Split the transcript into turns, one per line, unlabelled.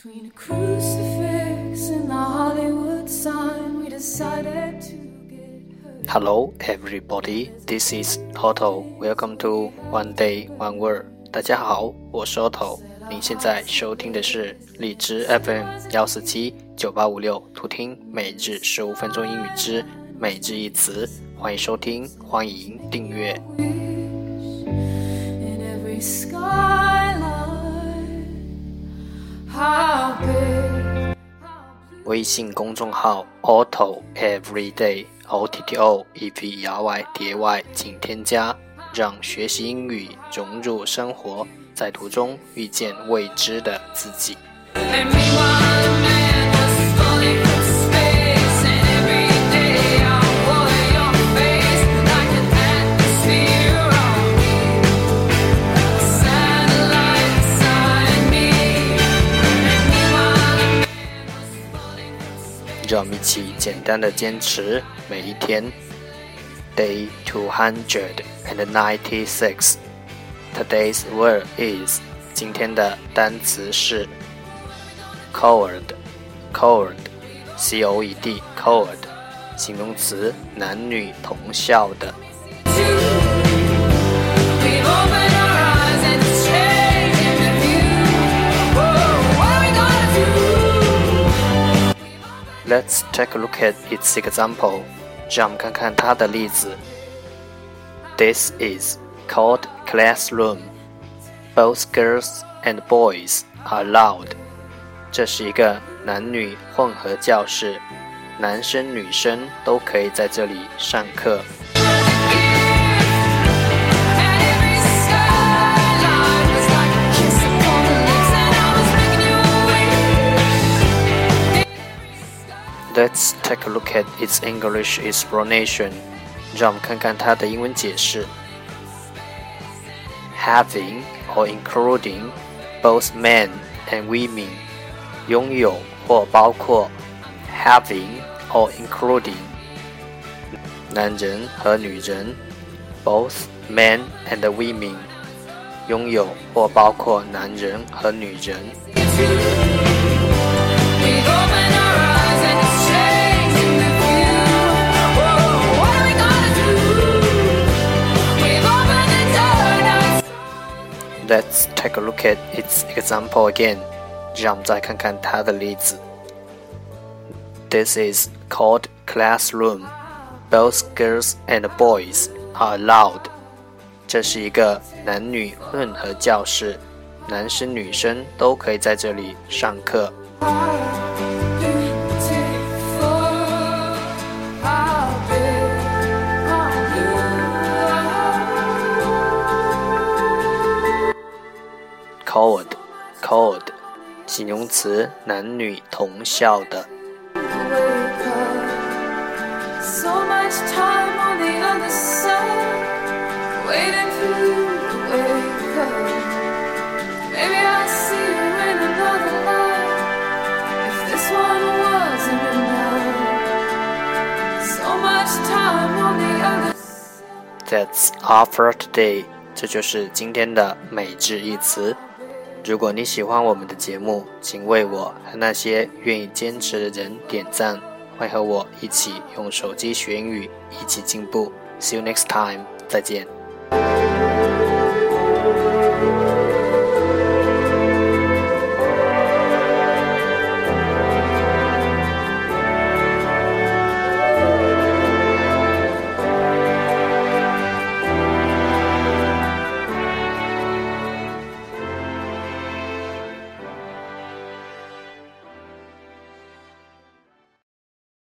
Between a crucifix and the Hollywood sign, we decided to get hurt.
Hello everybody, this is Otto. Welcome to One Day One Word. 大家好，我是 Otto。您现在收听的是荔枝 FM 1479856，图听每日15分钟英语之每日一词。欢迎收听，欢迎订阅。微信公众号 Otto Everyday OTTO EVERYDAY 请添加，让学习英语融入生活，在途中遇见未知的自己。让我们一起简单的坚持每一天。Day 296 Today's word is 今天的单词是 Coed C-O-E-D Coed 形容词，男女同校的。Let's take a look at its example. 让我们看看它的例子。This is called classroom. Both girls and boys are allowed. 这是一个男女混合教室，男生女生都可以在这里上课。Let's take a look at its English explanation. 让我们看看它的英文解释。Having or including both men and women. 拥有或包括 Having or including 男人和女人 Both men and women. 拥有或包括男人和女人。Let's take a look at its example again. 让我们再看看它的例子。This is called classroom. Both girls and boys are allowed. 这是一个男女混合教室，男生女生都可以在这里上课。Coed 形容词，男女同校的。That's all for today. 这就是今天的每日一词。如果你喜欢我们的节目，请为我和那些愿意坚持的人点赞，会和我一起用手机学英语，一起进步。See you next time. 再见。